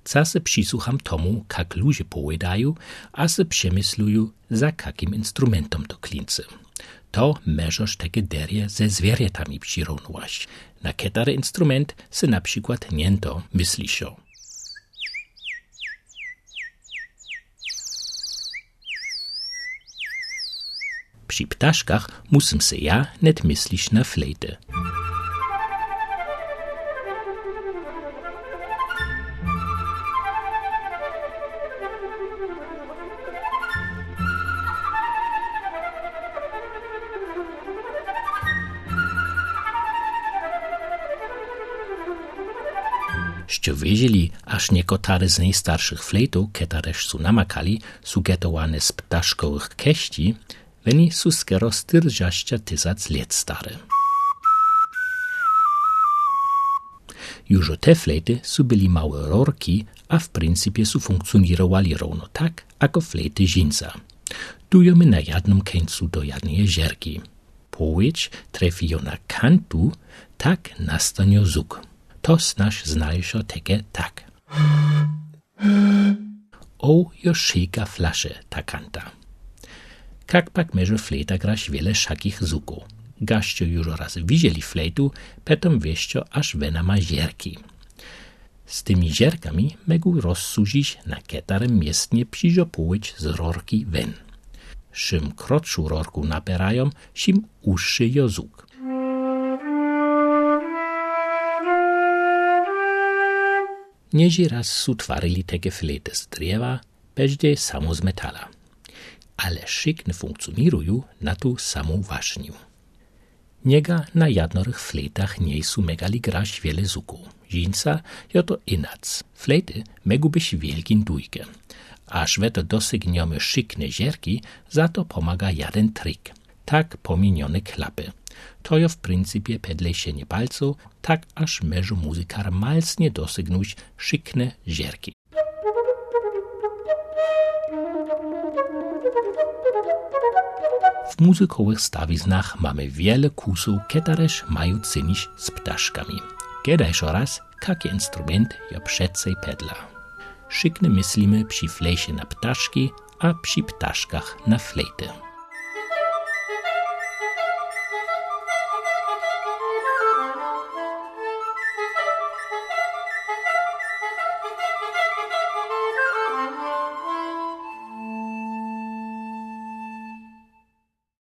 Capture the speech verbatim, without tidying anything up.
ca se přisłucham tomu, kak ludzie powiedają, a se przemyslują, za kakim instrumentom to klince. To możesz takie derje ze zwierzętami przyrównować. Na ketary instrument se na przykład niento myślisz. Przy ptaszkach musim se ja net myślisz na flejtę. Ście wiedzieli, aż niekotare z najstarszych flejtów, ketareż su namakali, su getowane z ptaszkowych keści, weni su skoro styrżaścia tysac lat stare. Już te flejty su byli małe rorki, a w pryncypie su funkcjonirowali równo tak, jako flejty dżinsa. Dujemy na jednym końcu do jednej jeżerki. Powiedź trefi ją na kantu, tak nastanie zuk. To snaž znajšo teke tak. O, jo šejka flaše, ta kanta. Kak pak meže flejta graš wiele šakich zuków. Gaście już raz widzieli flejtu, petom wieścio aż wena ma żerki. Z tymi żerkami megu rozsužić na ketarem miestnie przyżopołyć z rorki wen. Szym krotszą rorku naperają, szym uższy jo zuk. Nieži raz su twarili teke flejty z drzewa, bežde samo z metala. Ale szykne funkcjonują na tu samą ważnię. Niega na jednorych flejtach nie su megali graś wiele zuków. Dżinsa jo to inac. Flejty megu być wielkin dujke. Aż we to dosygniemy szykne żerki, za to pomaga jeden trik. Tak pominione klapy. To jo w pryncypie pedlejszenie palców, tak aż meżu muzykar malsnie dosygnuć szykne żerki. W muzykowych stawiznach mamy wiele kusów, ketareż mają cynić z ptaszkami. Kedajż raz, kaki instrument jo przedcej pedla. Szykne myślimy przy flejsie na ptaszki, a przy ptaszkach na flejty.